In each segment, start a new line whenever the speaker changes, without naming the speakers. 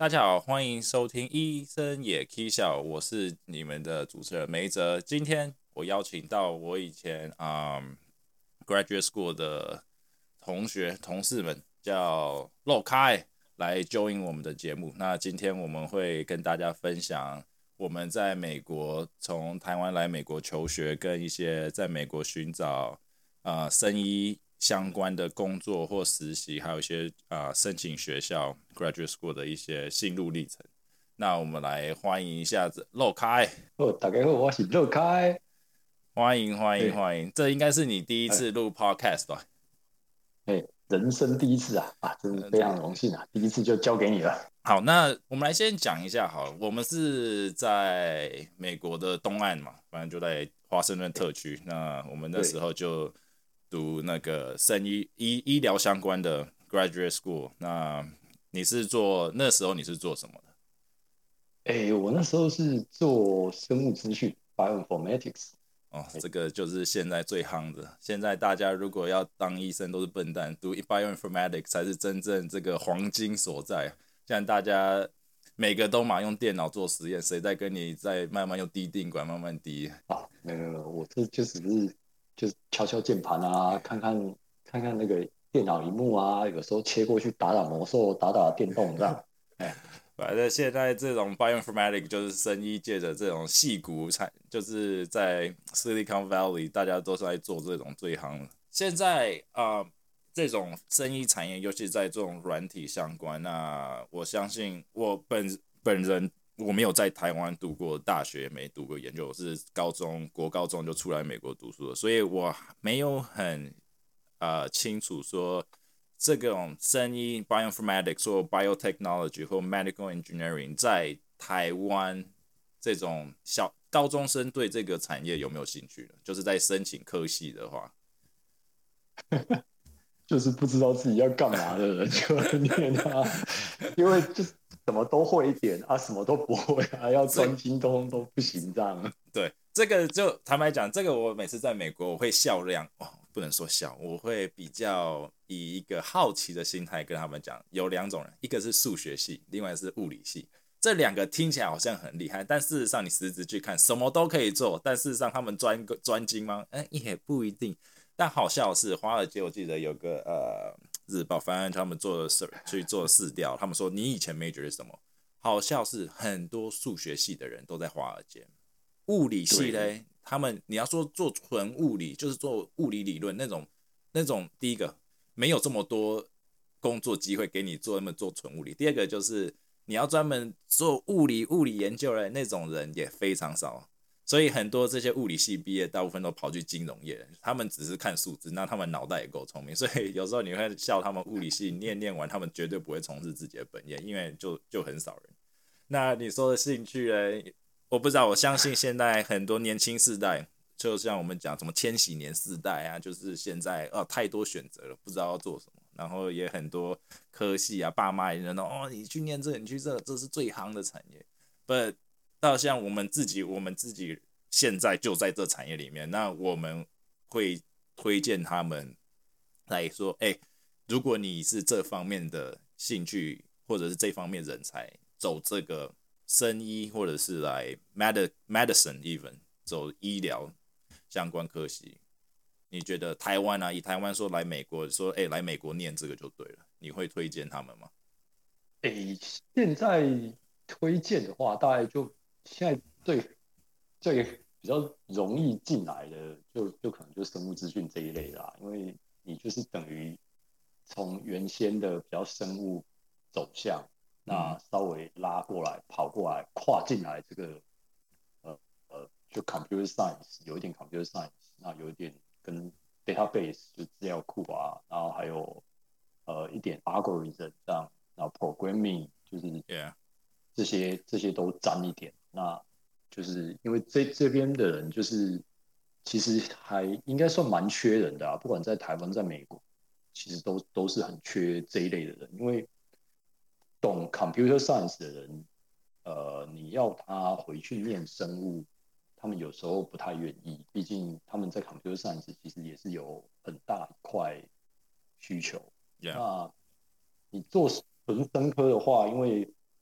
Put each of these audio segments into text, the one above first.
大家好，欢迎收听医生也 K 笑，我是你们的主持人梅泽。今天我邀请到我以前graduate school 的同事们，叫肉开来 join 我们的节目。那今天我们会跟大家分享我们在美国从台湾来美国求学，跟一些在美国寻找生医相关的工作或实习，还有一些申请学校 graduate school 的一些心路历程。那我们来欢迎一下子肉开。
大家好，我是乐开。
欢迎欢迎
哎
欢迎！这应该是你第一
哎
次录 podcast 吧？
人生第一次真是非
这个
常荣幸第一次就交给你了。
好，那我们来先讲一下好了，我们是在美国的东岸嘛，反正就在华盛顿特区。那我们那时
对，
候就读那个医疗相关的 graduate school。那那时候你是做什么的？
我那时候是做生物资讯 （bioinformatics）。
哦，这个就是现在最夯的。现在大家如果要当医生都是笨蛋，读 bioinformatics 才是真正这个黄金所在。现在大家每个都嘛用电脑做实验，谁在跟你在慢慢用滴定管慢慢滴？
没有，我这就只是就是敲敲键盘看看那个电脑荧幕有时候切过去打打魔兽，打打电动这样。哎，
反正现在这种 bioinformatics 就是生医界的这种矽谷产，就是在 Silicon Valley 大家都是在做这种最行。现在这种生医产业，尤其在这种软体相关，那我相信我本人我没有在台湾读过大学，没读过研究，我是国高中就出来美国读书了，所以我没有很清楚说这种生医 bioinformatics 或 biotechnology 或 medical engineering 在台湾这种高中生对这个产业有没有兴趣呢？就是在申请科系的话。
就是不知道自己要干嘛的人就会念因为就是什么都会一点什么都不会要
这
专精都不行这样。
对，这个就坦白讲，这个我每次在美国我会笑量哦，不能说笑，我会比较以一个好奇的心态跟他们讲，有两种人，一个是数学系，另外是物理系。这两个听起来好像很厉害，但事实上你实质去看，什么都可以做，但事实上他们专精吗？也不一定。但好笑的是，华尔街我记得有个日报，反正他们去做市调，他们说你以前 major 是什么？好笑是很多数学系的人都在华尔街。物理系
对，
嘞，他们你要说做纯物理，就是做物理理论那种，第一个没有这么多工作机会给你做纯物理，第二个就是你要专门做物理研究的那种人也非常少，所以很多这些物理系毕业，大部分都跑去金融业，他们只是看数字，那他们脑袋也够聪明，所以有时候你会笑他们物理系念完，他们绝对不会从事自己的本业，因为就很少人。那你说的兴趣呢？我不知道，我相信现在很多年轻世代，就像我们讲什么千禧年世代啊，就是现在太多选择了，不知道要做什么，然后也很多科系啊，爸妈也认同你去念这，你去这是最行的产业。But 到像我们自己现在就在这产业里面，那我们会推荐他们来说，如果你是这方面的兴趣或者是这方面人才，走这个生医或者是来 medicine even 走医疗相关科系，你觉得台湾以台湾说来美国说来美国念这个就对了，你会推荐他们吗？
现在推荐的话，大概就现在最比较容易进来的就可能就生物资讯这一类因为你就是等于从原先的比较生物走向，
嗯
那稍微拉过来、跑过来、跨进来这个就 computer science 有一点 computer science，那有一点跟 database 就资料库然后还有一点 algorithm 这样，然后 programming 就是
，Yeah，
这些都沾一点。那就是因为这边的人就是其实还应该算蛮缺人的不管在台湾在美国，其实都是很缺这一类的人，因为懂 computer science 的人，你要他回去念生物，他们有时候不太愿意，毕竟他们在 computer science 其实也是有很大一块需求。
，Yeah，
那你做纯生科的话，因为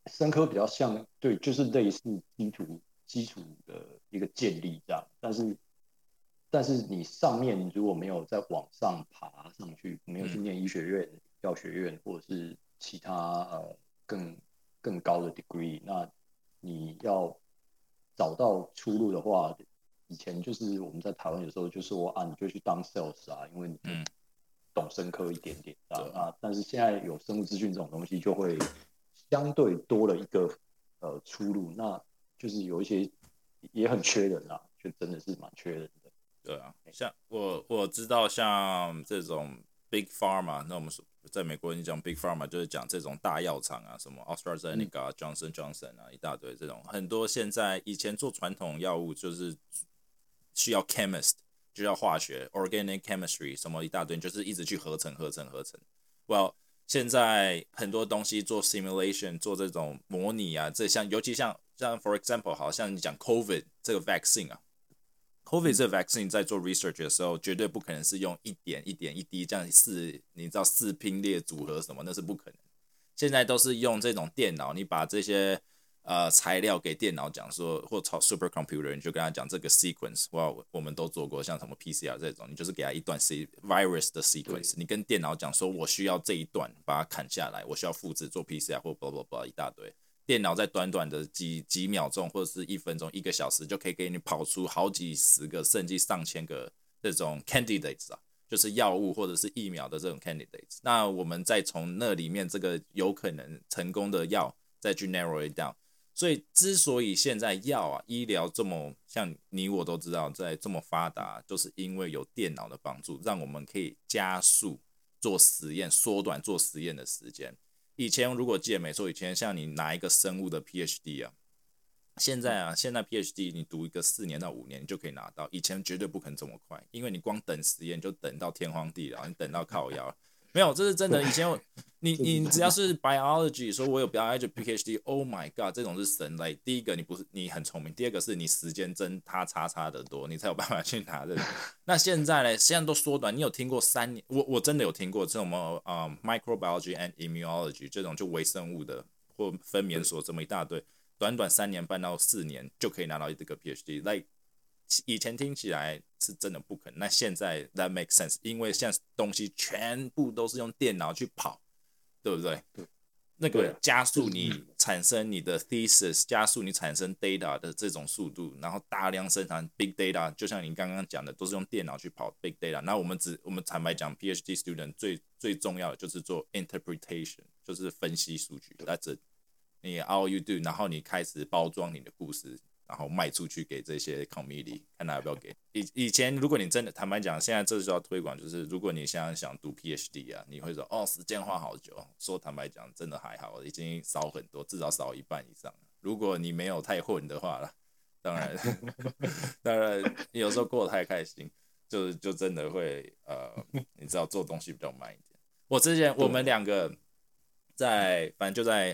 生科比较像，对，就是类似基础的一个建立这样，但是你上面如果没有再往上爬上去，没有去念医学院、药学院或者是其他更高的 degree，那你要找到出路的话，以前就是我们在台湾有时候就说啊，你就去当 sales 啊，因为你就懂生科一点点啊。那但是现在有生物资讯这种东西，就会相对多了一个出路，那就是有一些也很缺人啊，就真的是蛮缺人的。
对啊，像我知道像这种 big pharma，那我们在美国你讲 big pharma 就是讲这种大药厂啊，什么 AstraZeneca、Johnson Johnson 啊，一大堆这种，很多现在以前做传统药物就是需要 chemist，就要化学 organic chemistry 什么一大堆，就是一直去合成。Well，现在很多东西做 simulation， 做这种模拟啊，尤其像 for example， 好像你讲 COVID 这个 vaccine 啊。COVID 这个 vaccine 在做 research 的时候，绝对不可能是用一点一滴这样你知道四拼列组合什么，那是不可能。现在都是用这种电脑，你把这些材料给电脑讲说，或炒 supercomputer， 你就跟他讲这个 sequence， 哇，我们都做过，像什么 PCR 这种，你就是给他一段 virus 的 sequence， 你跟电脑讲说，我需要这一段把它砍下来，我需要复制做 PCR 或 blah blah blah 一大堆。电脑在短短的几秒钟或者是1分钟、1个小时就可以给你跑出好几十个甚至上千个这种 candidates 啊，就是药物或者是疫苗的这种 candidates。那我们再从那里面这个有可能成功的药再去 narrow it down。所以之所以现在药啊医疗这么像你我都知道在这么发达，就是因为有电脑的帮助，让我们可以加速做实验，缩短做实验的时间。以前如果记得没错，以前像你拿一个生物的 PhD 啊，现在 PhD 你读一个4年到5年你就可以拿到，以前绝对不可能这么快，因为你光等实验就等到天荒地老，你等到靠腰。没有，这是真的。以前你只要是 biology， 说我有 biology PhD，Oh my god， 这种是神类。第一个你很聪明，第二个是你时间真差的多，你才有办法去拿这种。那现在呢？现在都缩短。你有听过3年？我真的有听过这种microbiology and immunology 这种就微生物的或分娩所这么一大堆，短3年半到4年就可以拿到这个 PhD。以前听起来是真的不可能，那现在 that makes sense， 因为现在东西全部都是用电脑去跑，对不对？
对，
那个加速你产生你的 thesis， 加速你产生 data 的这种速度，然后大量生产 big data， 就像你刚刚讲的，都是用电脑去跑 big data。那我们坦白讲 ，PhD student 最重要的就是做 interpretation， 就是分析数据。That's it， 你 all you do， 然后你开始包装你的故事。然后卖出去给这些 committee， 看他要不要给。以前如果你真的坦白讲，现在这就要推广，就是如果你现在想读 PhD 啊，你会说哦，时间花好久。说坦白讲，真的还好，已经少很多，至少少1半以上。如果你没有太混的话啦，当然有时候过得太开心，就真的会你知道做东西比较慢一点。我们2个反正就在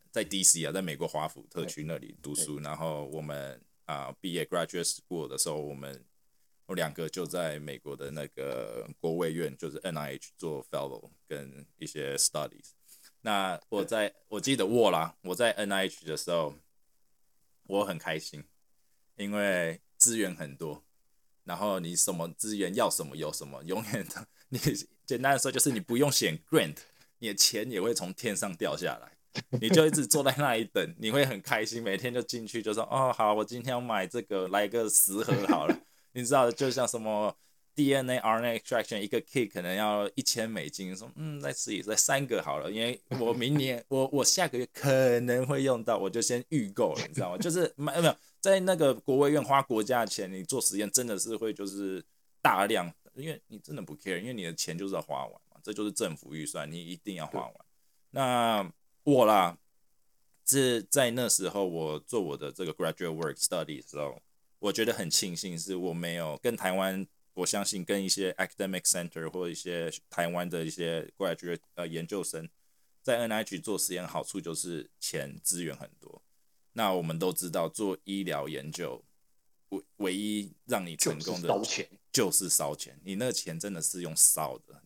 DC 啊，在美国华府特区那里读书，然后我们毕业 graduate school 的时候，我2个就在美国的那个国卫院，就是 NIH 做 fellow 跟一些 studies。那我记得我在 NIH 的时候，我很开心，因为资源很多，然后你什么资源要什么有什么，永远的你简单的说就是你不用选 grant， 你的钱也会从天上掉下来。你就一直坐在那里等，你会很开心，每天就进去就说哦好，我今天要买这个，来个10盒好了。你知道，就像什么 DNA、RNA extraction 一个 kit 可能要$1000，说再试一试，3个好了，因为我明年我下个月可能会用到，我就先预购了，你知道吗？就是没有在那个国卫院花国家的钱，你做实验真的是会就是大量，因为你真的不 care， 因为你的钱就是要花完嘛，这就是政府预算，你一定要花完。那我啦，是在那时候我做我的这个 graduate work study 的时候，我觉得很庆幸是我没有跟台湾，我相信跟一些 academic center 或一些台湾的一些 graduate 研究生在 NIH 做实验，好处就是钱资源很多。那我们都知道做医疗研究，唯一让你成功的
就是烧钱，
就是烧钱，你那个钱真的是用烧的，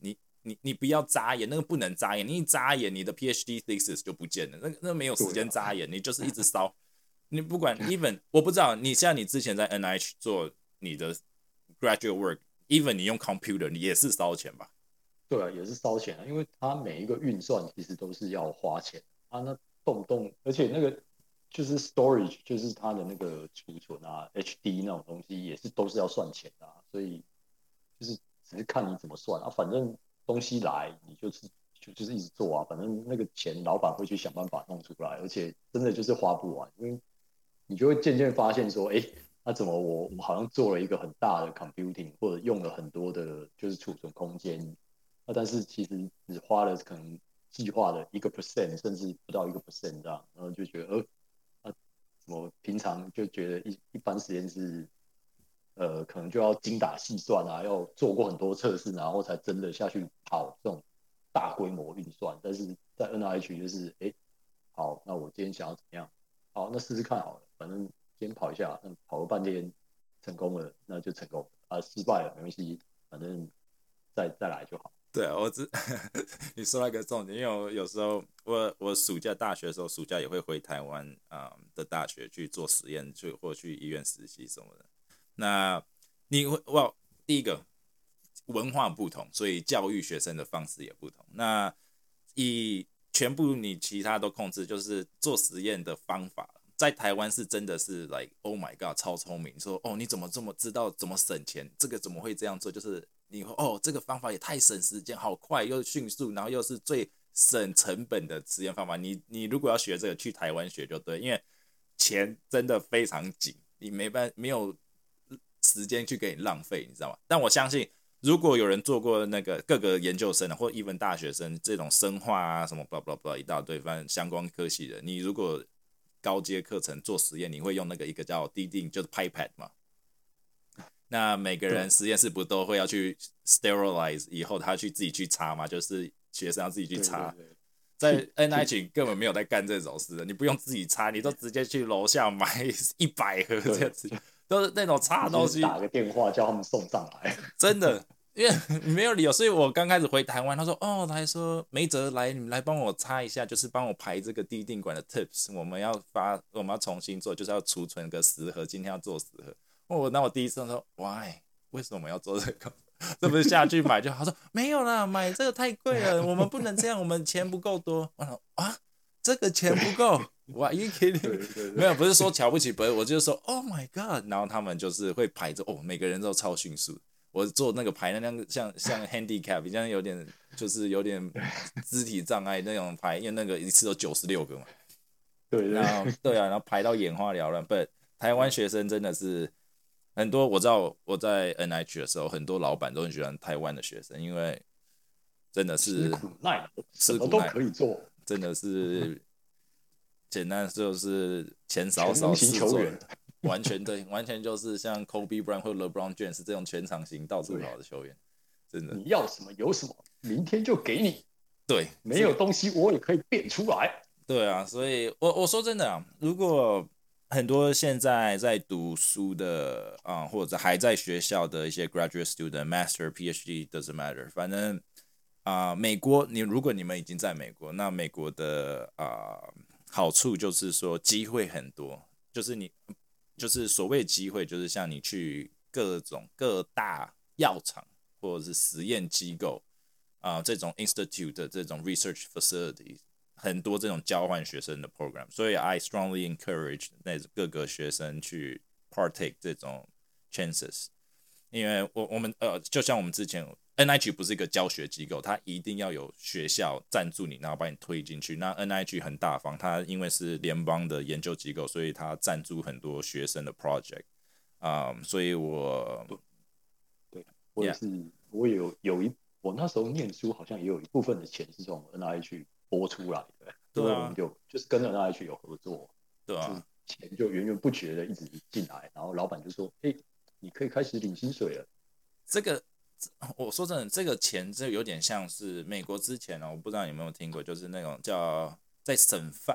你不要眨眼，那个不能眨眼，你一眨眼，你的 PhD thesis 就不见了，那没有时间眨眼，你就是一直烧。你不管 even 我不知道，像你之前在 NIH 做你的 graduate work，even 你用 computer， 你也是烧钱吧？
对啊，也是烧钱啊，因为它每一个运算其实都是要花钱啊，那动不动，而且那个就是 storage，就是它的那个储存啊，HD 那种东西也是都是要算钱的啊，所以就是只是看你怎么算啊，反正东西来你就是一直做啊，反正那个钱老板会去想办法弄出来，而且真的就是花不完，因为你就会渐渐发现说，哎，那怎么我好像做了一个很大的 computing，或者用了很多的就是储存空间，那但是其实只花了可能计划的1%，甚至不到1%这样，然后就觉得怎么平常就觉得一般实验室可能就要精打细算啊，要做过很多测试，然后才真的下去跑这种大规模运算。但是在 NIH 就是好，那我今天想要怎么样？好，那试试看好了，反正今天跑一下，跑了半天成功了，那就成功啊，失败了没关系，反正再来就好。
对啊，你说到一个重点，因为我有时候我暑假大学的时候，暑假也会回台湾的大学去做实验，或去医院实习什么的。那你会第一个文化不同，所以教育学生的方式也不同。那全部你其他都控制，就是做实验的方法，在台湾是真的是 like oh my god 超聪明，说你怎么这么知道怎么省钱，这个怎么会这样做？就是你这个方法也太省时间，好快又迅速，然后又是最省成本的实验方法。你如果要学这个，去台湾学就对，因为钱真的非常紧，你没有时间去给你浪费，你知道吗？但我相信，如果有人做过那个各个研究生或even 大学生这种生化啊什么 blah blah blah 一大堆，反正相关科系的，你如果高阶课程做实验，你会用那个一个叫滴定，就是 pipette 嘛。那每个人实验室不都会要去 sterilize 以后，他去自己去擦嘛，就是学生要自己去擦。
对对对，
在 NIH 根本没有在干这种事的，你不用自己擦，你都直接去楼下买100盒这样子，都是那种擦的东西。
打个电话叫他们送上来。
真的，因为没有理由，所以我刚开始回台湾，他说他还说梅哲来，你们来帮我擦一下，就是帮我排这个滴定管的 tips，我们要重新做，就是要储存个10盒，今天要做10盒。那我第一次说 why 为什么要做这个？这不是下去买就好？他说没有啦，买这个太贵了，我们不能这样，我们钱不够多。我说这个钱不够，Why you kidding？ 没有，不是说瞧不起别人，我就是说 Oh my God， 然后他们就是会排着每个人都超迅速。我做那个排那样像 handicap， 像有点肢体障碍那种排，因为那个一次都96个嘛。
对
对啊，然后排到眼花缭乱。不，台湾学生真的是很多，我知道我在 NIH 的时候，很多老板都很喜欢台湾的学生，因为真的是
吃苦耐劳，什么都可以做，
真的是简单就是钱少
全能型
事做，
球员，
完全就是像 Kobe Bryant 或 LeBron James 这种全场型到处跑的球员，真的。
你要什么有什么，明天就给你。
对，
没有东西我也可以变出来。
对啊，所以我说真的啊，如果很多现在在读书的或者还在学校的一些 graduate student、master、PhD doesn't matter，反正美国如果你们已经在美国，那美国的好处就是说机会很多，就是所谓机会，就是像你去各大药厂或者是实验机构这种 institute 的这种 research facility。很多这种交换学生的 program， 所以 I strongly encourage 各个学生去 partake 这种 chances， 因为我们就像我们之前 NIH 不是一个教学机构，它一定要有学校赞助你，然后把你推进去。那 NIH 很大方，它因为是联邦的研究机构，所以它赞助很多学生的 project，所以
对，我也是，我我那时候念书好像也有一部分的钱是从 NIH 拨出来的，因为我们就是跟 NIH 有合作，
对啊，
钱就源源不绝的一直进来，然后老板就说：“你可以开始领薪水了。”
这个我说真的，这个钱就有点像是美国之前我不知道你有没有听过，就是那种叫在省饭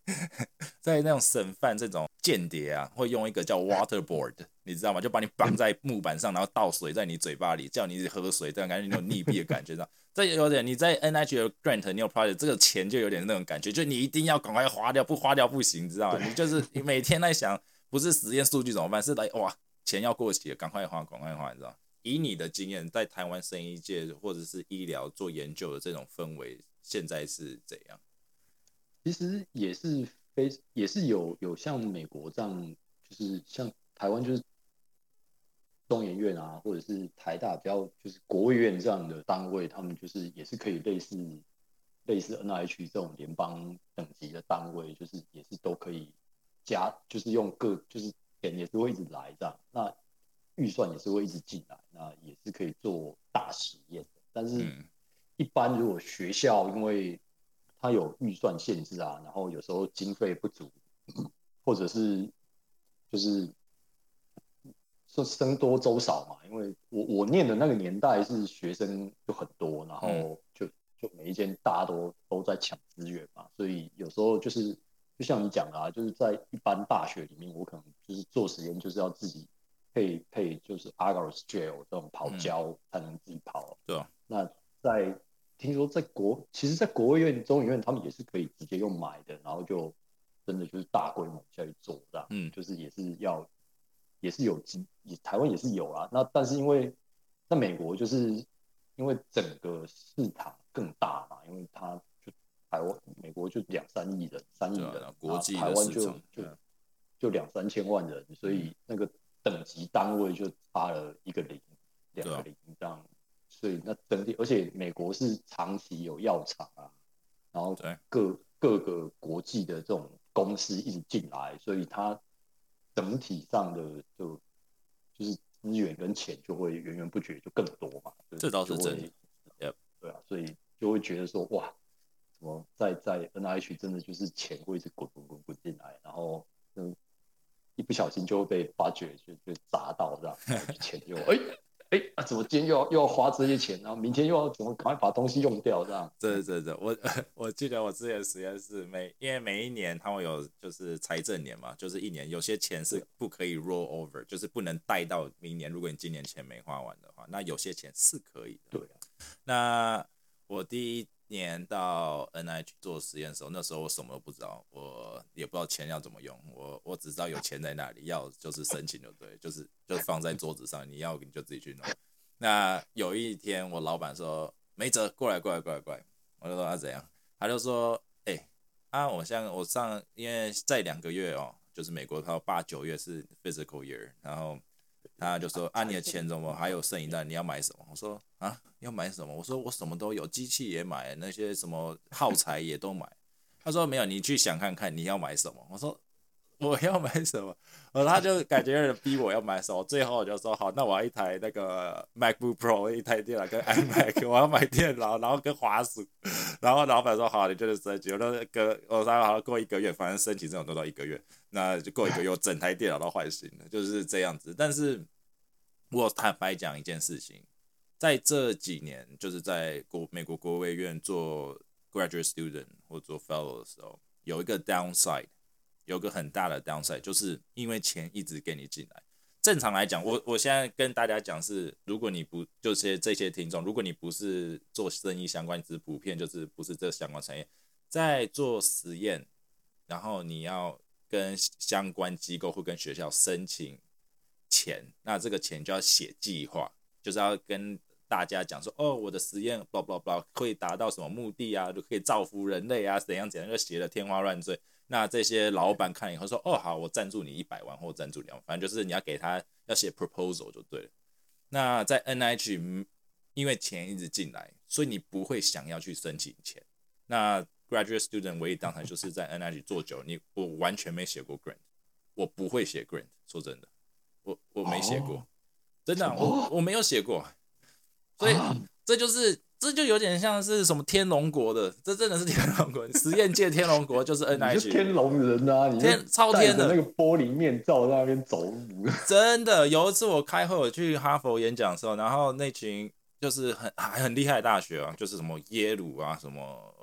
在那种审犯这种间谍啊，会用一个叫 waterboard， 你知道吗？就把你绑在木板上，然后倒水在你嘴巴里，叫你喝水，这样感觉你有溺毙的感觉，这有点你在 NIH 的 grant 你有 project， 这个钱就有点那种感觉，就你一定要赶快花掉，不花掉不行，你知道吗？你就是你每天在想，不是实验数据怎么办，是来哇钱要过期了，赶快花，赶快花，你知道吗？以你的经验，在台湾生医界或者是医疗做研究的这种氛围，现在是怎样？
其实也是有像美国这样，就是像台湾就是中研院啊，或者是台大比较就是国卫院这样的单位，他们就是也是可以类似 NIH 这种联邦等级的单位，就是也是都可以就是用就是钱也是会一直来这样，那预算也是会一直进来，那也是可以做大实验的。但是，一般如果学校因为它有预算限制啊，然后有时候经费不足，或者是就是说生多粥少嘛，因为我念的那个年代是学生就很多，然后就每一间大家都在抢资源嘛，所以有时候就是就像你讲的啊，就是在一般大学里面，我可能就是做实验就是要自己配就是 agar gel 这种跑胶才能自己跑。
对啊，
那听说其实，在国卫院、中研院他们也是可以直接用买的，然后就真的就是大规模下去做这样，就是也是有台湾也是有啦。那但是因为在美国就是因为整个市场更大嘛，因为它就美国就2、3亿人，3亿人，
啊，国际
台湾
的市场
就2、3千万人，所以那个等级单位就差了一个零、2个零这样。所以那整体，而且美国是长期有药厂啊，然后各个国际的这种公司一直进来，所以它整体上的就是资源跟钱就会源源不绝就更多嘛，
这倒是真的。
对啊，所以就会觉得说哇，怎么在 NIH 真的就是钱会一直滚进来，然后一不小心就会被发觉就砸到这样，钱就怎么今天又要花这些钱，然后明天又要怎么赶快把东西用掉这样？
对，我记得我之前实验室因为每一年它会有就是财政年嘛，就是一年有些钱是不可以 roll over，就是不能带到明年。如果你今年钱没花完的话，那有些钱是可以的。
对啊，
那我第一年到 NIH 做实验的时候，那时候我什么都不知道，我也不知道钱要怎么用，我只知道有钱在那里，要就是申请就对，就是放在桌子上，你要你就自己去弄。那有一天我老板说没辙，过来，我就说怎样，他就说我因为在2个月哦，就是美国它8、9月是 physical year， 然后他就说你的钱怎么还有剩一袋，你要买什么？我说要买什么？我说我什么都有，机器也买，那些什么耗材也都买。他说没有，你去想看看你要买什么。我说我要买什么？他就感觉有人逼我要买什么，最后我就说好，那我要一台那个 MacBook Pro， 一台电脑跟 iMac， 我要买电脑，然后跟滑鼠。然后老板说好，你就是升级。我说好，过1个月，反正申请这种都到1个月，那就过1个月，我整台电脑都换新了，就是这样子。但是我坦白讲一件事情，在这几年，就是在美国国卫院做 graduate student 或做 fellow 的时候，有一个 downside。有个很大的 downside， 就是因为钱一直给你进来。正常来讲，我现在跟大家讲是，如果你不就是这些听众，如果你不是做生意相关，只是普遍就是不是这相关产业，在做实验，然后你要跟相关机构或跟学校申请钱，那这个钱就要写计划，就是要跟大家讲说，我的实验 blah blah blah 会达到什么目的啊，就可以造福人类啊，怎样，就写的天花乱坠。那这些老板看以后说，好，我赞助你100万或赞助2万，反正就是你要给他要写 proposal 就对了。那在 NIH， 因为钱一直进来，所以你不会想要去申请钱。那 graduate student 唯一当然就是在 NIH 做久，我完全没写过 grant， 我不会写 grant， 说真的，我没写过，真的我没有写过，所以这就有点像是什么天龙国的，这真的是天龙国，实验界天龙国就是 NIH，
你是天龙人啊，你
超天的
那个玻璃面罩在那边走路。
真的，有一次我开会，我去哈佛演讲的时候，然后那群就是很厉害的大学啊，就是什么耶鲁啊，什么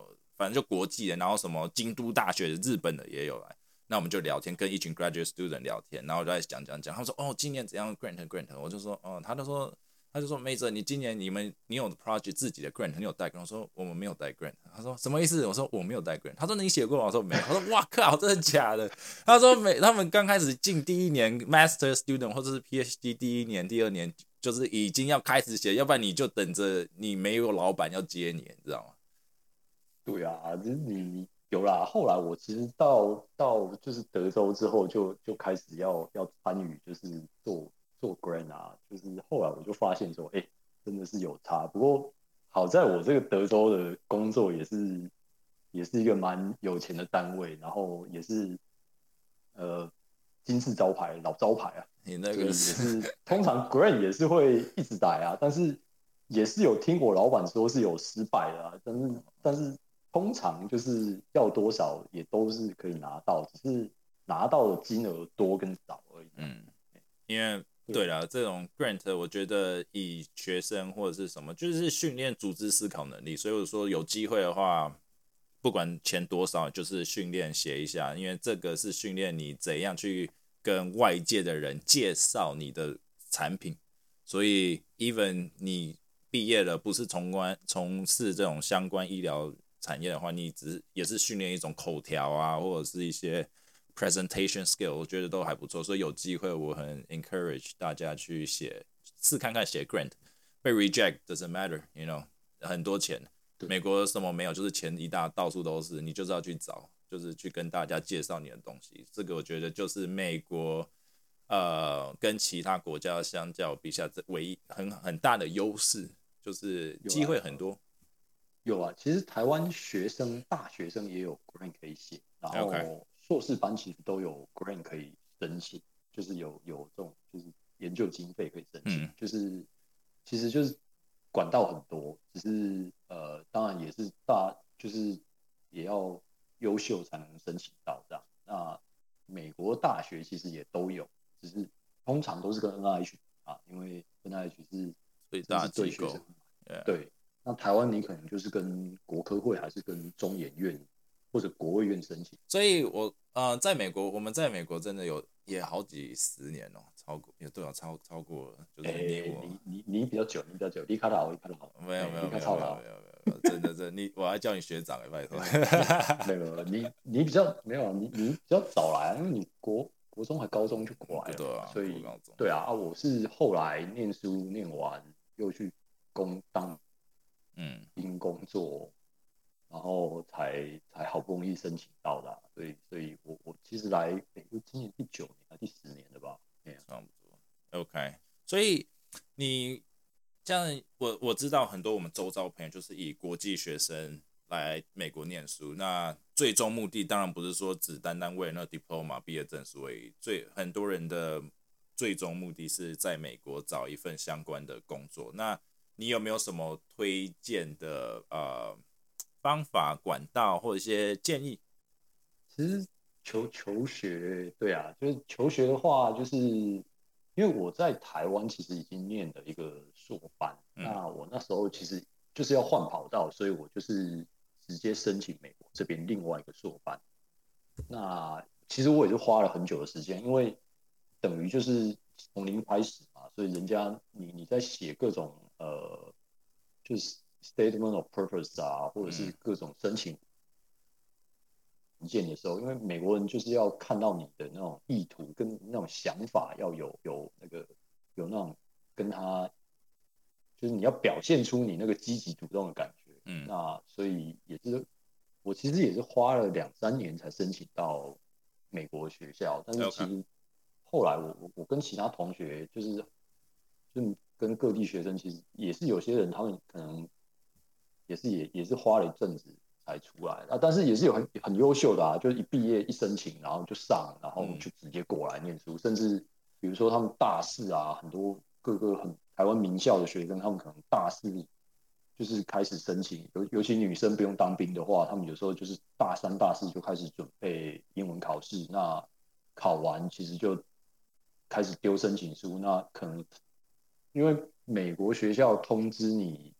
反正就国际的，然后什么京都大学的、日本的也有来。那我们就聊天，跟一群 graduate student 聊天，然后就在讲。他说哦，今年怎样 grant，我就说哦，他就说梅泽，你今年你有 project 自己的 grant，你有带 grant？ 我说我们没有带 grant。他说什么意思？我说我没有带 grant。他说你写过吗？我说没有。他说哇靠，真的假的？他说他们刚开始进第一年 master student 或者是 PhD 第一年、第二年，就是已经要开始写，要不然你就等着你没有老板要接你，你知道吗？
对啊，就是你有啦。后来我其实到就是德州之后就开始要参与，就是做 grant 啊，就是后来我就发现说，哎，真的是有差。不过好在我这个德州的工作也是一个蛮有钱的单位，然后也是呃金字招牌老招牌啊，
你那
所以也
个是
是通常 grant 也是会一直来啊，但是也是有听我老板说是有失败的啊，但是通常就是要多少也都是可以拿到，只是拿到的金额多跟少而已。
因为对了，这种 grant 我觉得以学生或者是什么，就是训练组织思考能力。所以我说有机会的话，不管钱多少，就是训练写一下，因为这个是训练你怎样去跟外界的人介绍你的产品。所以 even 你毕业了，不是从事这种相关医疗产业的话，你也是训练一种口条啊，或者是一些 presentation skill， 我觉得都还不错。所以有机会，我很 encourage 大家去试看看写 grant， 被 reject doesn't matter，you know， 很多钱。美国什么没有，就是钱到处都是，你就是要去找，就是去跟大家介绍你的东西。这个我觉得就是美国跟其他国家相较比下，这唯一很大的优势就是机会很多。
有啊，其实台湾大学生也有 grant 可以写，然
OK，
后硕士班其实都有 grant 可以申请，就是有这种就是研究经费可以申请，就是其实就是管道很多，只是当然也是就是也要优秀才能申请到这样。那美国大学其实也都有，只是通常都是跟 NIH 啊，因为 NIH
最大
对学生
机构，yeah。
对。那台湾你可能就是跟国科会还是跟中研院或者国卫院申请。
所以在美国，我们在美国真的也好几十年哦，超过也对啊，超过了，就是
你比较久，你比较久，你卡老，你卡老，你卡超老，
真的，我还叫你学长拜托。
没有你比较没有你比较早来，因为你国中还高中就过来了，
对啊，
所以
高中
对啊，我是后来念书念完又去当兵工作，然后才好不容易申请到的啊，所以我其实来美国今年第9年还第10年了吧？
差不多。OK， 所以你这样，我知道很多我们周遭朋友就是以国际学生来美国念书，那最终目的当然不是说只单单为了那 diploma 毕业证书而已，很多人的最终目的是在美国找一份相关的工作。那你有没有什么推荐的方法、管道或者一些建议？
其实求学，对啊，就是求学的话，就是因为我在台湾其实已经念了一个硕班，那我那时候其实就是要换跑道，所以我就是直接申请美国这边另外一个硕班。那其实我也是花了很久的时间，因为等于就是从零开始嘛，所以人家你在写各种就是 statement of purpose 啊，或者是各种申请文件的时候，因为美国人就是要看到你的那种意图跟那种想法，要有那种跟他，就是你要表现出你那个积极主动的感觉。那所以我其实也是花了2、3年才申请到美国学校，但是其实后来我跟其他同学就跟各地学生，其实也是有些人他们可能也是花了一阵子才出来啊，但是也是有很优秀的啊，就是一毕业一申请，然后就上，然后就直接过来念书，甚至比如说他们大四啊，很多各个台湾名校的学生，他们可能大四就是开始申请，尤其女生不用当兵的话，他们有时候就是大3、大4就开始准备英文考试，那考完其实就开始丢申请书，那可能因为美国学校通知你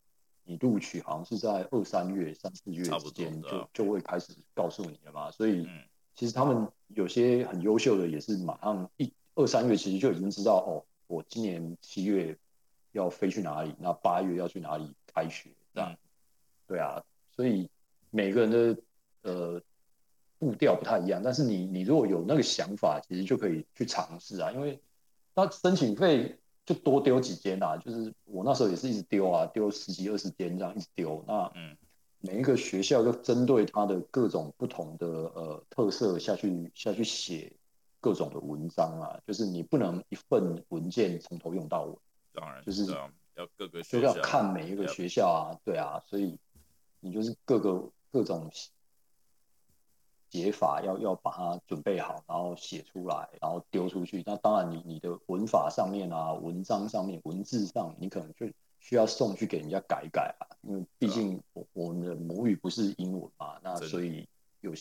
你录取好像是在2、3月、3、4月
差不多
之间
的。
就会开始告诉你了嘛，所以
嗯，
其实他们有些很优秀的也是马上2、3月其实就已经知道哦，我今年7月要飞去哪里，那8月要去哪里开学这样。
嗯，
对啊，所以每个人的步调不太一样，但是你如果有那个想法，其实就可以去尝试啊，因为那申请费就多丢几间啊，就是我那时候也是一直丢啊，丢10几20间这样一直丢，那
嗯，
每一个学校就针对它的各种不同的特色下去写各种的文章啊，就是你不能一份文件从头用到尾，
当然，
就是
对啊，要各个
就要
学校，
看每一个学校啊，对啊，所以你就是各种解法要把它准备好，然后写出来，然后丢出去。那当然你的文法上面啊，文章上面、文字上，你可能就需要送去给人家改一改啊，因为毕
对啊，
竟我们的母语不是英文嘛，那
真的，
所以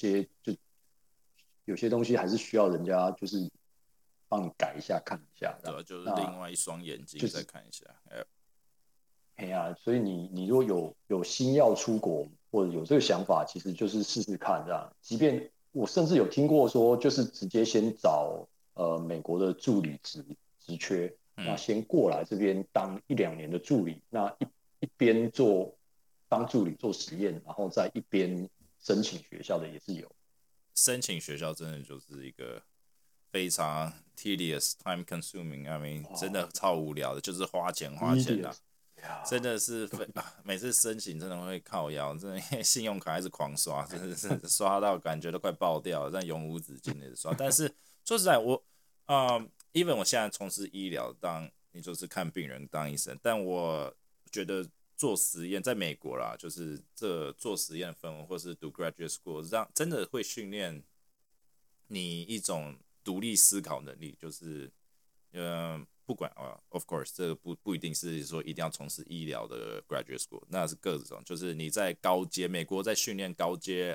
有些东西还是需要人家就是帮你改一下、看一下这样。
对啊，就是另
那
外一双眼睛
就是
再看一下。
哎呀，所以你如果有心要出国，或者有这个想法，其实就是试试看这样。即便我甚至有听过说，就是直接先找美国的助理职缺，那
嗯，
先过来这边当1、2年的助理，那一边当助理做实验，然后再一边申请学校的也是有。
申请学校真的就是一个非常 tedious、time consuming，I mean，真的
哇
超无聊的，就是花钱啦、
，tedious 呀，
真的是
对，
每次申请真的会靠腰，真的信用卡还是狂刷，真的是刷到感觉都快爆掉了，但永无止境的刷。但是说实在，even 我现在从事医疗，当你就是看病人当医生，但我觉得做实验在美国啦，就是这做实验氛围，或是读 graduate school，让真的会训练你一种独立思考能力，就是不管of course，这个不一定是说一定要从事医疗的 graduate school，那是各种，就是你在高阶，美国在训练高阶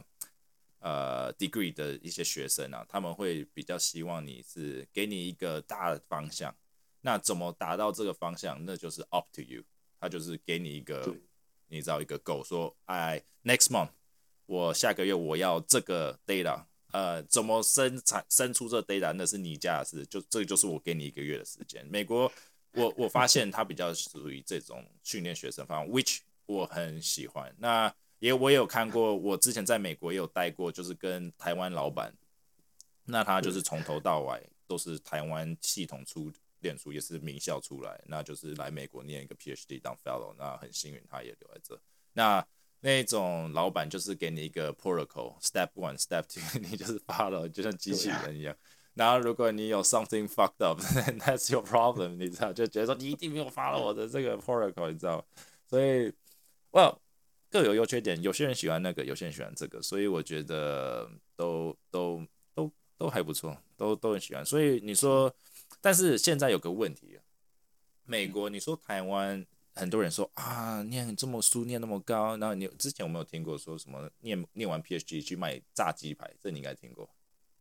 degree 的一些学生啊，他们会比较希望你是给你一个大的方向，那怎么达到这个方向，那就是 up to you，他就是给你一个，
对
你知道一个 goal，说next month 我下个月我要这个 data。怎么生出这 data 那是你家的事，这个就是我给你1个月的时间。美国，我发现它比较属于这种训练学生方法 which 我很喜欢。那我也有看过，我之前在美国也有待过，就是跟台湾老板，那他就是
对，
从头到尾都是台湾系统念书，也是名校出来，那就是来美国念一个 PhD 当 Fellow，那很幸运他也留在这。那种老板就是给你一个 protocol，step one, step two，你就是 follow，就像机器人一样。然后如果你有 something fucked up，that's your problem，你知道，就觉得说你一定没有 follow 我的这个 protocol，你知道，所以，well，各有优缺点，有些人喜欢那个，有些人喜欢这个，所以我觉得都还不错，都很喜欢。所以你说，但是现在有个问题，美国，你说台湾，很多人说啊，念这么书念那么高，然后你之前有没有听过说什么念完 PhD 去卖炸鸡排？这你应该听过。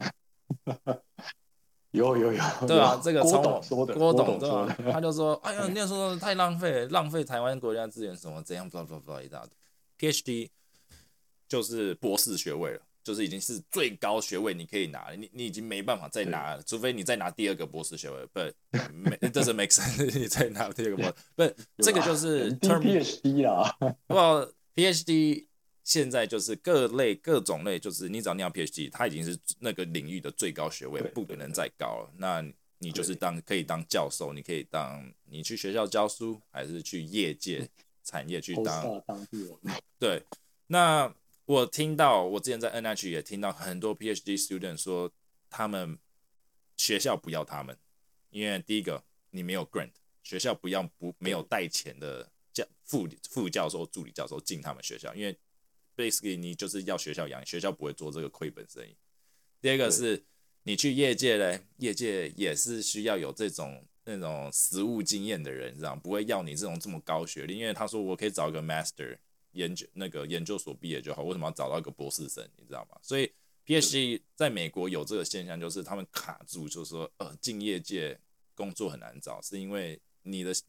对啊，
有，
这个
郭董
从
说的，郭
郭董对吧、
董说的，
他就说，哎呀，念书太浪费了，浪费台湾国家资源什么怎样，blah blah blah 一大堆。PhD 就是博士学位了，就是已经是最高学位你可以拿了，你已经没办法再
对，
拿了，除非你再拿第二个博士学位。But it doesn't make sense，你再拿第二个博士。不，这个就
有啦
是
，MD、
term，
PhD 啦，
不 PhD 现在就是各种类，就是你只要念 PhD，它已经是那个领域的最高学位，
对
不可能再高了。那你就是
对，
可以当教授，你可以你去学校教书，还是去业界产业去当。
postdoc 当地人，
对，那我之前在 NH 也听到很多 PhD student 说，他们学校不要他们，因为第一个你没有 grant，学校没有带钱的副教授、助理教授进他们学校，因为 basically 你就是要学校养，学校不会做这个亏本生意。第二个
对
是你去业界嘞，业界也是需要有那种实务经验的人，这样不会要你这么高学历，因为他说我可以找一个 master 研究所毕业就好，为什么要找到一个博士生？你知道吗？所以 PhD 在美国有这个现象，就是他们卡住，就是说进业界工作很难找，是因为你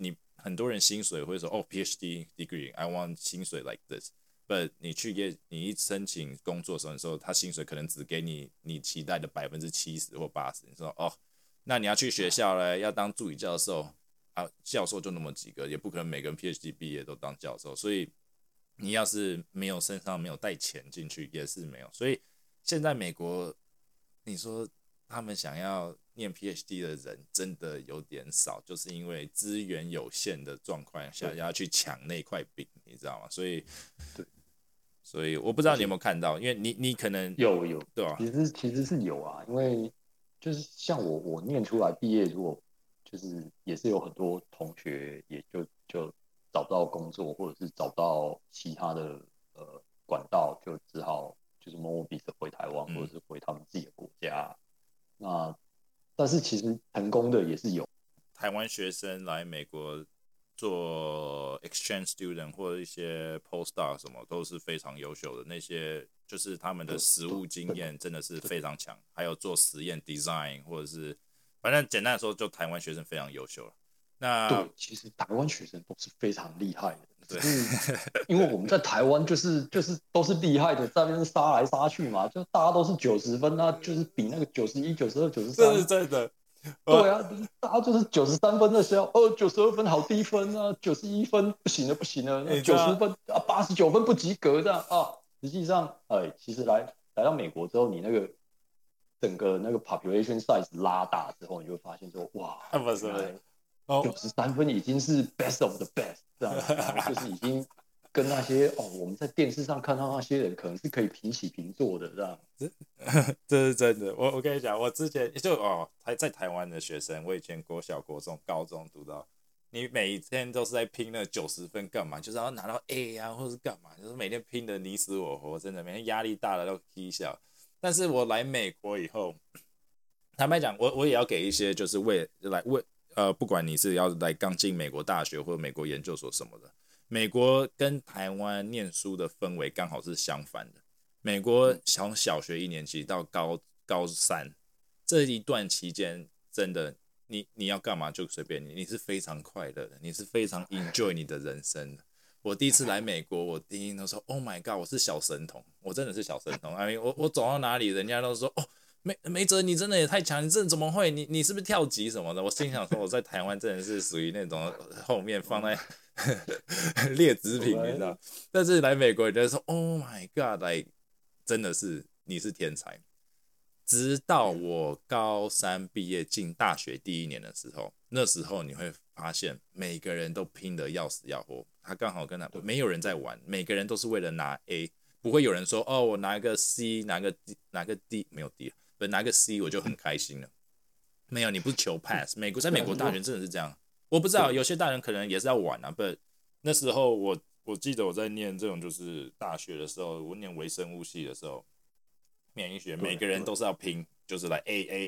很多人薪水会说哦 PhD degree I want 薪水 like this。But 你一申请工作的时候，他薪水可能只给你期待的70%或80%。你说哦，那你要去学校嘞，要当助理教授啊，教授就那么几个，也不可能每个人 PhD 毕业都当教授，所以你要是身上没有带钱进去，也是没有。所以现在美国，你说他们想要念 PhD 的人真的有点少，就是因为资源有限的状况下，要去抢那块饼，你知道吗？所以我不知道你有没有看到，因为你可能
有
对吧？
其实是有啊，因为就是像我念出来毕业，如果就是也是有很多同学也就找不到工作，或者是找不到其他的管道，就只好就是默默闭着回台湾，或者是回他们自己的国家。那但是其实成功的也是有，
台湾学生来美国做 exchange student 或者一些 postdoc 什么都是非常优秀的，那些就是他们的实务经验真的是非常强，还有做实验 design 或者是反正简单的说，就台湾学生非常优秀了。那
对，其实台湾学生都是非常厉害的，
对，
因为我们在台湾就是都是厉害的，在那边杀来杀去嘛，就大家都是90分啊，就是比那个91、92、
这是
93。
真的。
对啊，大家就是93分的时候，92分好低分啊，91分不行了不行了，那90分啊89分不及格这样啊。实际上，其实来到美国之后，你那个整个那个 population size 拉大之后，你就会发现说，哇，
不是
93分已经是 best of the best 这样，然后就是已经跟那些我们在电视上看到那些人可能是可以平起平坐的这样。
这是真的。我跟你讲，我之前就在台湾的学生，我以前国小、国中、高中读到，你每一天都是在拼那90分干嘛？就是要拿到 A 啊，或者是干嘛？就是每天拼的你死我活，真的每天压力大的都踢笑。但是我来美国以后，坦白讲，我也要给一些就是不管你是要来刚进美国大学或者美国研究所什么的，美国跟台湾念书的氛围刚好是相反的。美国从小学1年级到高三这一段期间，真的你要干嘛就随便你是非常快乐的，你是非常 enjoy 你的人生的。我第一次来美国，我第一都说 Oh my God， 我是小神童，我真的是小神童。我走到哪里，人家都说哦。梅哲，你真的也太强，你这怎么会？你是不是跳级什么的？我心想说，我在台湾真的是属于那种后面放在劣质品，你知道？但是来美国，你就说 Oh my God， like 真的是你是天才。直到我高3毕业进大学第1年的时候，那时候你会发现每个人都拼得要死要活。他刚好跟他没有人在玩，每个人都是为了拿 A， 不会有人说哦，我拿个 C， 拿个 D， 没有 D， 不拿个 C 我就很开心了。没有，你不是求 pass。在美国大学真的是这样。我不知道有些大人可能也是要玩啊，不，那时候我记得我在念这种就是大学的时候，我念微生物系的时候。免疫学每个人都是要拼，就是来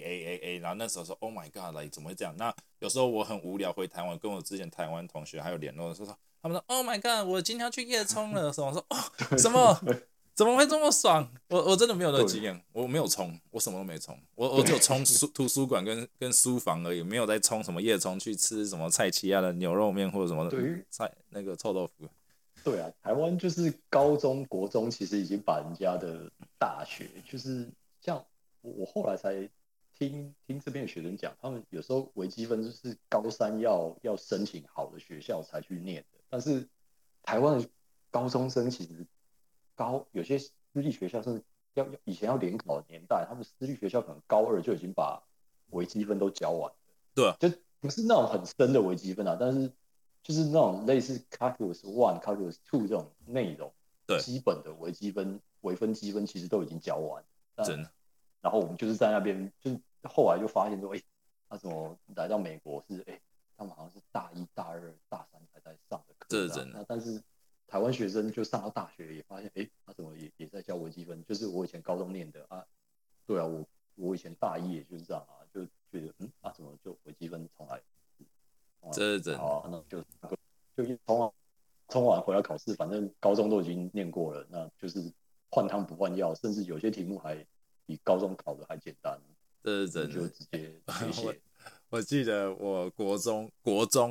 A， 然后那时候说 Oh my God， 来怎么会这样？那有时候我很无聊回台湾，跟我之前台湾同学还有联络的时候，他们说 Oh my God， 我今天要去夜冲了什么？我说哦什么？怎么会这么爽？我真的没有那个经验，我没有冲，我什么都没冲，我只有冲图书馆跟书房而已，没有在冲什么夜冲去吃什么蔡奇亚的牛肉面或者什么那个臭豆腐。
对啊，台湾就是高中、国中，其实已经把人家的大学，就是像我后来才听这边的学生讲，他们有时候微积分就是高3要申请好的学校才去念的，但是台湾的高中生其实有些私立学校是以前要联考的年代，他们私立学校可能高2就已经把微积分都教完了，
对啊，
就不是那种很深的微积分啊，但是就是那种类似 calculus 1、calculus 2这种内容，
对，
基本的微积分、微分积分其实都已经教完，
真的。
然后我们就是在那边，就是后来就发现说，他怎么来到美国是，他们好像是大1、大2、大3才在上的课，
这是真的。
那但是台湾学生就上到大学也发现，他怎么也在教微积分，就是我以前高中念的啊，对啊，我以前大1也就是这样啊，就觉得怎么就微积分重来。
这是真的。
好，那就冲完回来考试，反正高中都已经念过了，那就是换汤不换药，甚至有些题目还比高中考的还简单。
这是真的，
就直接写。
我记得我国中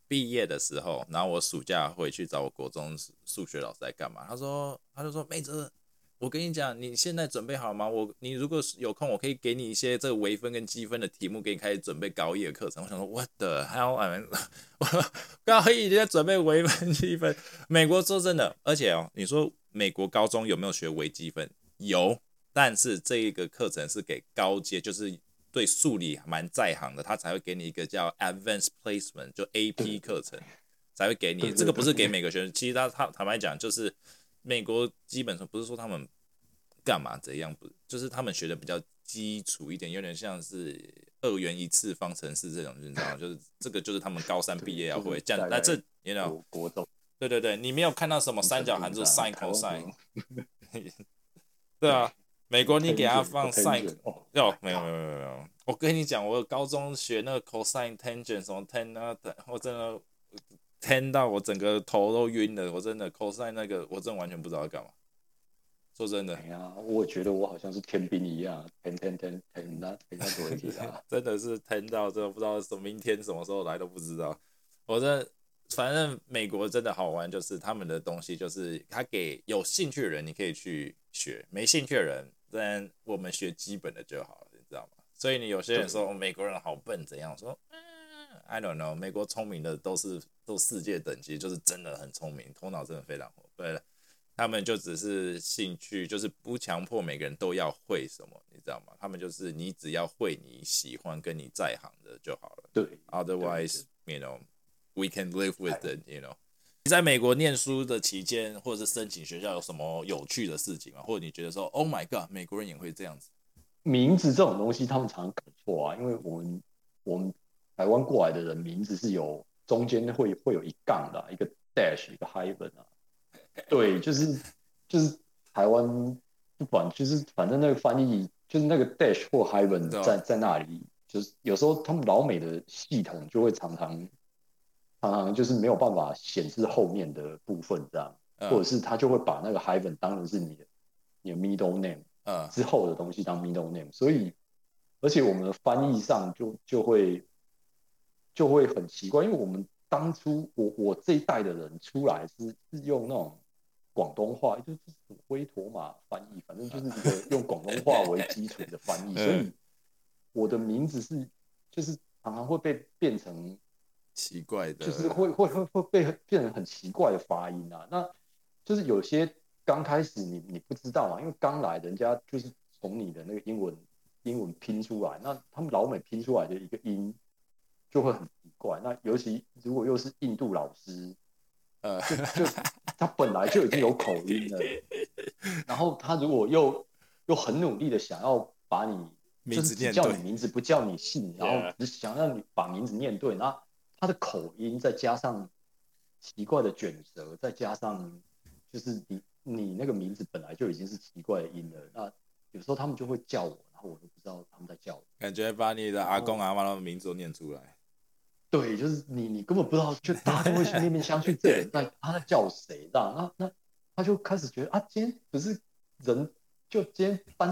毕业的时候，然后我暑假回去找我国中数学老师在干嘛？他就说妹子，我跟你讲，你现在准备好吗？你如果有空，我可以给你一些这个微分跟积分的题目，给你开始准备高一的课程。我想说 ，What the hell？ 我高一已经在准备微分积分。美国说真的，而且你说美国高中有没有学微积分？有，但是这一个课程是给高阶，就是对数理蛮在行的，他才会给你一个叫 Advanced Placement， 就 AP 课程才会给你。这个不是给每个学生，其实他坦白讲，就是美国基本上不是说他们干嘛怎样，不就是他们学的比较基础一点，有点像是2元一次方程式这种，你知道吗？就是这个就是他们高3毕业要会这样，但这you know
国中，
对对对，你没有看到什么三角函数 sin cosine，对啊。美国你给他放 sin， 没有，我跟你讲，我高中学那个 cosine tangent 什么 tan 啊，我真的 tan 到我整个头都晕了，我真的 cosine 那个我真的完全不知道要干嘛。说真的，
哎呀，我觉得我好像是天兵一样，tan 那多一点啊，
真的是 tan 到真的不知道明天什么时候来都不知道。反正美国真的好玩，就是他们的东西就是他给有兴趣的人你可以去学，没兴趣的人，但我们学基本的就好了，你知道吗？所以你有些人说美国人好笨怎样，我说I don't know， 美国聪明的都世界等级，就是真的很聪明，头脑真的非常活。对了，他们就只是兴趣，就是不强迫每个人都要会什么，你知道吗？他们就是你只要会你喜欢跟你在行的就好了。
对
，Otherwise you know。We can live with it, you know. 你在美国念书的期间，或者是申请学校，有什么有趣的事情吗？或者你觉得说，Oh my God， 美国人也会这样子？
名字这种东西他们常搞错啊，因为我们台湾过来的人，名字是中间会有一杠的一个 dash， 一个 hyphen 啊。对，就是台湾不管就是反正那个翻译就是那个 dash 或 hyphen 在那里，就是有时候他们老美的系统就会常常就是没有办法显示后面的部分这样，或者是他就会把那个 hyphen 当成是你的middle name，之后的东西当 middle name，所以而且我们的翻译上就会很奇怪，因为我们当初我这一代的人出来是用那种广东话，就是灰驼马翻译，反正就是一个用广东话为基础的翻译，所以我的名字就是常常会被变成
奇怪的，
就是会被变成很奇怪的发音啊。那就是有些刚开始你不知道嘛，因为刚来人家就是从你的那个英文拼出来，那他们老美拼出来的一个音就会很奇怪。那尤其如果又是印度老师，就他本来就已经有口音了，然后他如果又很努力的想要把你就是只叫你名字不叫你姓，然后只想让你把名字念对，那他的口音再加上奇怪的卷舌，再加上就是你那个名字本来就已经是奇怪的音了，那有时候他们就会叫我，然后我都不知道他们在叫我，
感觉把你的阿公阿妈的名字都念出来。
对，就是你根本不知道，就大家都会去面面相觑，这人他在叫谁这样，那他就开始觉得啊，今天不是人，就今天班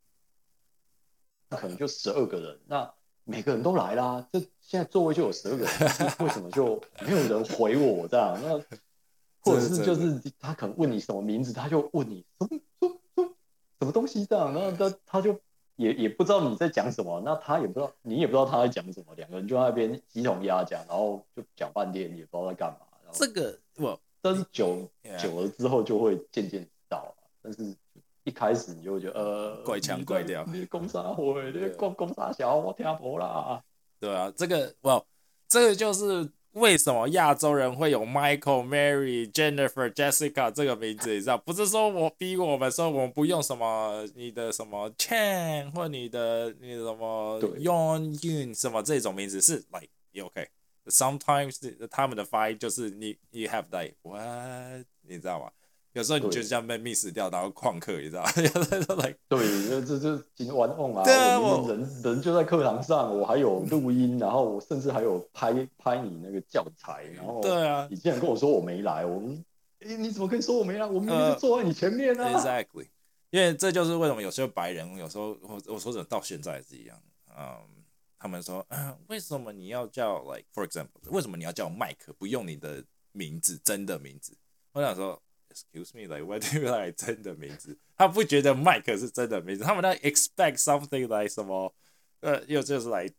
可能就12个人，那每个人都来啦，这现在座位就有12个人，为什么就没有人回我这样？那或者是就是他可能问你什么名字，他就问你什么东西这样，然后他就也不知道你在讲什么，那他也不知道你也不知道他在讲什么，两个人就在那边鸡同鸭讲，然后就讲半天也不知道在干嘛。
这个
但是久了之后就会渐渐知道，但是一开始你就会觉得
怪腔怪调，
你讲啥话？你讲啥小我听不啦。
对啊，这个就是为什么亚洲人会有 Michael、Mary、Jennifer、Jessica 这个名字，你知道？不是说我逼我们说我们不用什么你的什么 Chan 或你的什么 Yon Yun 什么这种名字是 like OK。Sometimes 他们的发音就是你 have like what 你知道吗？有时候你就这样被 miss 掉，然后旷课，你知道吗？
对，这今玩弄啊！对啊，我人就在课堂上，我还有录音，然后我甚至还有拍你那个教材，然后
对啊，
你竟然跟我说我没来，你怎么可以说我没来？我明明就坐在你前面啊
！Exactly， 因为这就是为什么有些白人，有时候我说真的到现在也是一样， 他们说，为什么你要叫 like for example， 为什么你要叫麦克，不用你的名字真的名字？我想说 ，excuse me，like what do you like 真的名字？他不觉得麦克是真的名字，他们在 expect something like 什么，又就是 like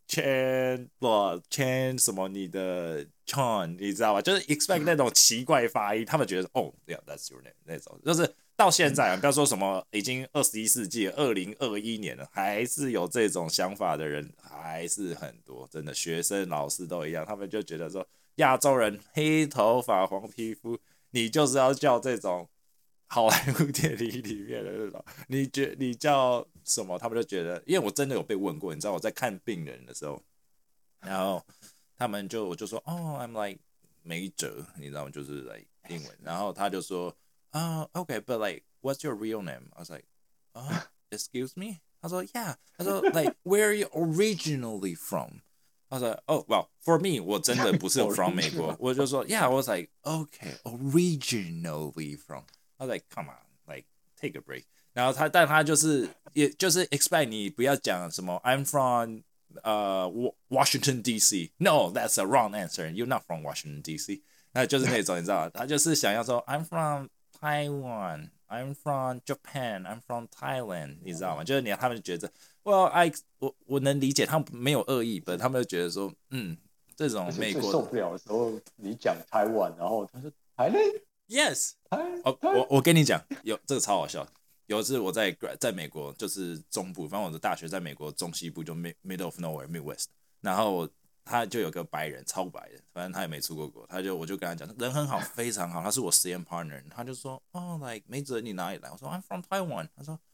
Chan 什么你的 Chan， 你知道吗？就是 expect 那种奇怪发音，他们觉得哦，yeah that's your name 那种，就是到现在啊，不要说什么已经21世纪2021年了，还是有这种想法的人还是很多，真的学生老师都一样，他们就觉得说亚洲人黑头发黄皮肤，你就是要叫这种好莱坞电影里面的那种，你叫什么，他们就觉得，因为我真的有被问过，你知道我在看病人的时候，然后我就说哦，I'm like 梅哲，你知道吗？就是 like 英文，然后他就说。Okay, but like, what's your real name? I was like, excuse me? 他说 Yeah. 他说 like, where are you originally from? I was like, oh, well, for me, 我真的不是 from 美国，我就说 Yeah. I was like, okay, originally from. I was like, come on, like, take a break. 然后但他也就是 expect 你不要讲什么 I'm from Washington D.C. No, that's a wrong answer. You're not from Washington D.C. 那就是那种你知道吗？他就是想要说 I'm from Taiwan, I'm from Japan, I'm from Thailand， 你知道吗？就是他们就觉得，Well, 我能理解，他们没有恶意，但他们就觉得说，这种美国
最受不了的时候，你讲台湾，然后他说台嘞
，Yes，
台，
我跟你讲，这个超好笑。有一次我在美国，就是中部，反正我的大学在美国中西部，就 middle of nowhere Midwest，然后他就有个白人，超白的，反正他也没出过国，我就跟他讲，人很好，非常好，他是我实验 partner，他就说，哦，like 梅哲你哪里来？我说 I'm from Taiwan，他说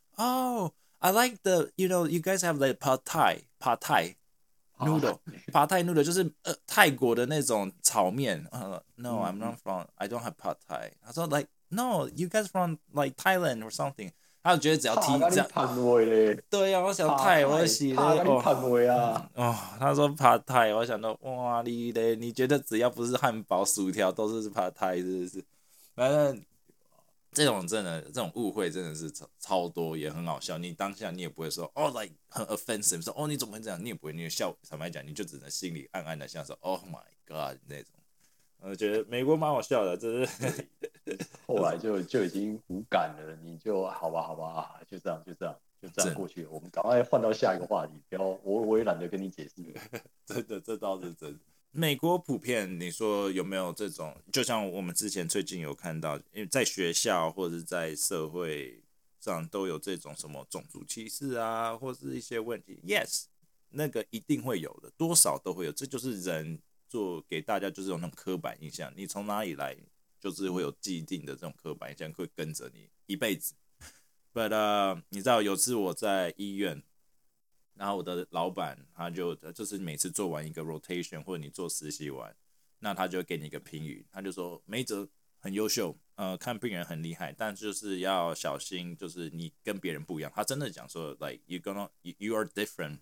，I like you guys have the pad thai noodle，pad thai noodle 就是泰国的那种炒面，No I'm not from，I don't have pad thai，他说 like no you guys from like Thailand or something。他就觉得只要提这样，对呀、我想泰，我洗嘞他说爬泰，我想到哇你嘞，你觉得只要不是汉堡、薯条都是爬泰，是不是？反正这种误会真的是超多，也很好笑。你当下你也不会说like 很 offensive， 说你怎么会这样？你也不会，你笑，坦白讲，你就只能心里暗暗的想说 Oh my God 那种。我觉得美国蛮好笑的，这是
后来就已经无感了，你就好吧，就这样过去了。我们赶快换到下一个话题，不要我也懒得跟你解释了。
真的，这倒是真的。美国普遍，你说有没有这种？就像我们之前最近有看到，因为在学校或者在社会上都有这种什么种族歧视啊，或是一些问题。Yes，那个一定会有的，多少都会有，这就是人做给大家就是有那种刻板印象。你从哪里来，就是会有既定的这种刻板印象会跟着你一辈子。But 你知道有次我在医院。然后我的老板他就是每次做完一个 rotation 或者你做实习完，那他就给你一个评语，他就说梅哲很优秀，看病人很厉害，但就是要小心，就是你跟别人不一样。他真的讲说 like you are different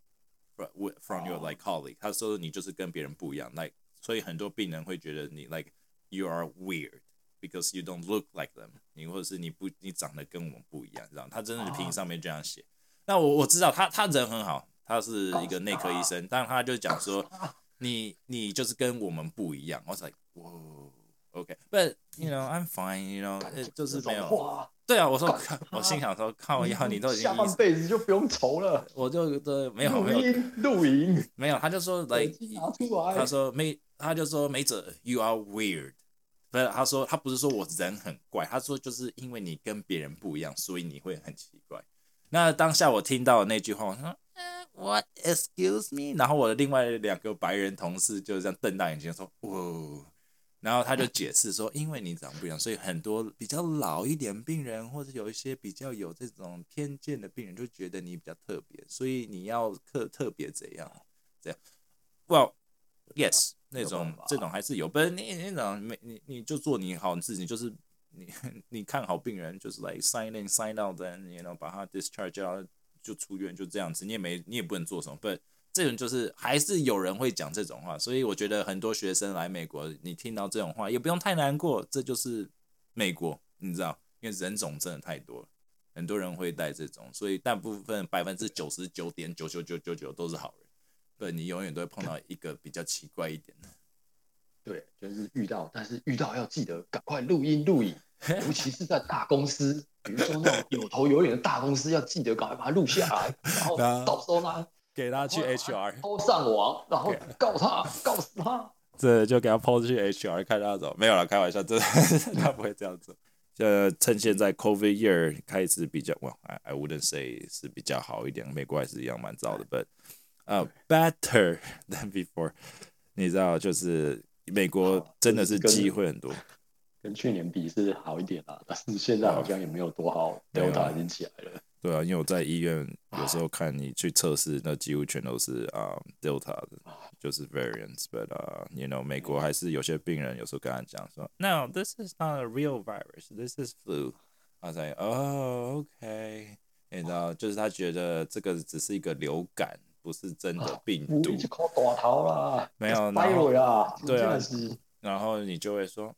from your like colleague， 他说你就是跟别人不一样 like， 所以很多病人会觉得你 like you are weird because you don't look like them， 你或者是你长得跟我们不一样，这样他真的评上面这样写。那我知道他人很好，他是一个内科医生，但他就讲说你就是跟我们不一样。我was like whoa okay，but you know I'm fine，you know 就是没有。对啊，我心想说靠腰，你都已经
下半辈子就不用愁了。
我就没有
录影
没有，他就说 like 他就说梅哲 you are weird。不是，他不是说我人很怪，他说就是因为你跟别人不一样，所以你会很奇怪。那当下我听到的那句话，我说，What excuse me？ 然后我的另外2个白人同事就这样瞪大眼睛说，哇！然后他就解释说，因为你长不一样，所以很多比较老一点病人，或者有一些比较有这种偏见的病人，就觉得你比较特别，所以你要特别怎样这样。Well, yes， 这种还是有，不是你那种你就做你好自己，就是你看好病人，就是 like sign in sign out， then you know 把他 discharge 掉就出院，就这样子，你也不能做什么。不，这种就是还是有人会讲这种话，所以我觉得很多学生来美国，你听到这种话也不用太难过，这就是美国，你知道，因为人种真的太多了，很多人会带这种，所以大部分99.99999%都是好人。 对，你永远都会碰到一个比较奇怪一点的。
对，就是遇到，但是遇到要记得赶快录音录影，尤其是在大公司，比如说那种有头有脸的大公司，要记得赶快把它录下来，然后
然后
到时候呢，
给他去 HR，
抛上网，然后告他，告死他。
这就给他抛去 HR 看他走，没有啦，开玩笑，真的他不会这样做。趁现在 COVID year 开始比较，I wouldn't say 是比较好一点，美国还是一样蛮糟的，but better than before。你知道，就是美国真的是机会很多，
跟去年比是好一点啦，但是现在好像也没有多好，Delta 已经起来了。
对啊，因为我在医院有时候看你去测试，那几乎全都是Delta 的，就是 variants。But you know， 美国还是有些病人有时候跟他讲说，No, this is not a real virus, this is flu。他才哦 ，OK， 你知道，就是他觉得这个只是一个流感，不是真的病毒。
你就靠大头啦，
没有，
然后啦，
对啊。然后你就会说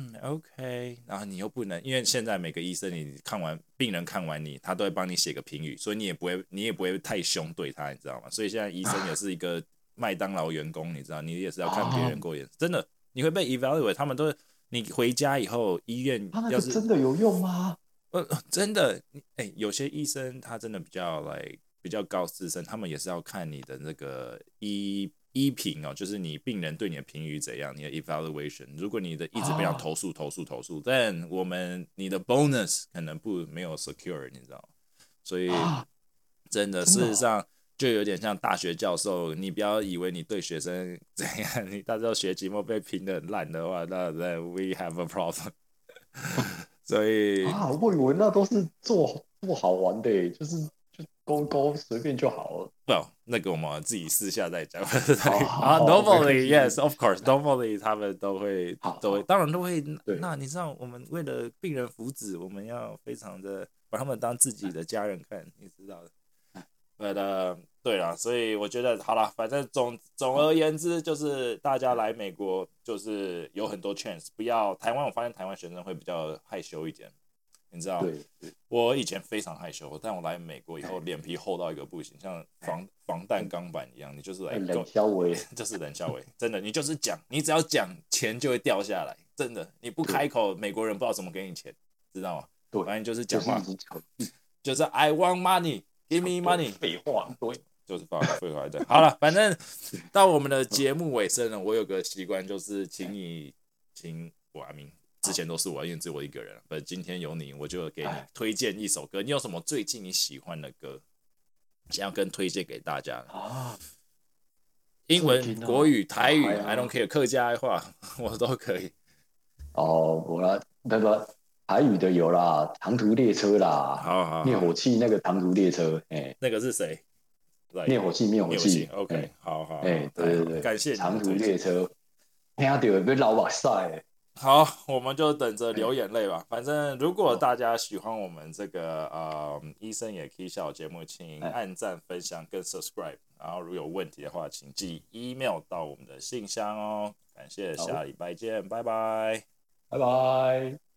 ，OK， 然后你又不能，因为现在每个医生你病人看完你，他都会帮你写个评语，所以你也不会太凶对他，你知道吗？所以现在医生也是一个麦当劳员工，你知道，你也是要看别人过眼，真的，你会被 evaluate， 他们都你回家以后医院要是
真的有用吗？
真的，有些医生他真的比较高资深，他们也是要看你的那个医评哦，就是你病人对你的评语怎样，你的 evaluation。如果你的一直被他投诉，但你的 bonus 可能没有 secure， 你知道吗？所以真的，事实上就有点像大学教授，你不要以为你对学生怎样，你到时候学期末被评得很烂的话，那 we have a problem 。所以
我以为那都是做好玩的，就是勾随便就好了。
不，那个我们自己私下再讲。Normally yes, of course, normally 他们都会，当然都会。那你知道，我们为了病人福祉，我们要非常的把他们当自己的家人看，你知道的。对啦，所以我觉得好啦，反正总而言之，就是大家来美国就是有很多 chance， 不要台湾，我发现台湾学生会比较害羞一点，你知道？
对，
我以前非常害羞，但我来美国以后脸皮厚到一个不行，像防弹钢板一样，你就是
冷笑话，
就是冷笑话，真的，你就是讲，你只要讲，钱就会掉下来，真的，你不开口，美国人不知道怎么给你钱，知道吗？
对，
反正就是讲话，就是 I want money。Give me money，
废话，对，
就是废话的。好了，反正到我们的节目尾声了，我有个习惯就是请我阿明，之前都是我，因为只有我一个人，但今天有你，我就给你推荐一首歌。你有什么最近你喜欢的歌，想要跟推荐给大家？英文、国语、台语 ，I don't care， 客家话我都可以。
我那个。台语的有啦，长途列车啦，
好，
灭火器那个长途列车，
那个是谁？
灭火器
，OK， 好，
对，
感谢你
长途列车，听到被老把晒。
好，我们就等着流眼泪吧。反正如果大家喜欢我们这个医生也可以笑节目，请按赞、分享跟 subscribe。然后如果有问题的话，请寄 email 到我们的信箱哦。感谢，下礼拜见，拜拜，
拜拜。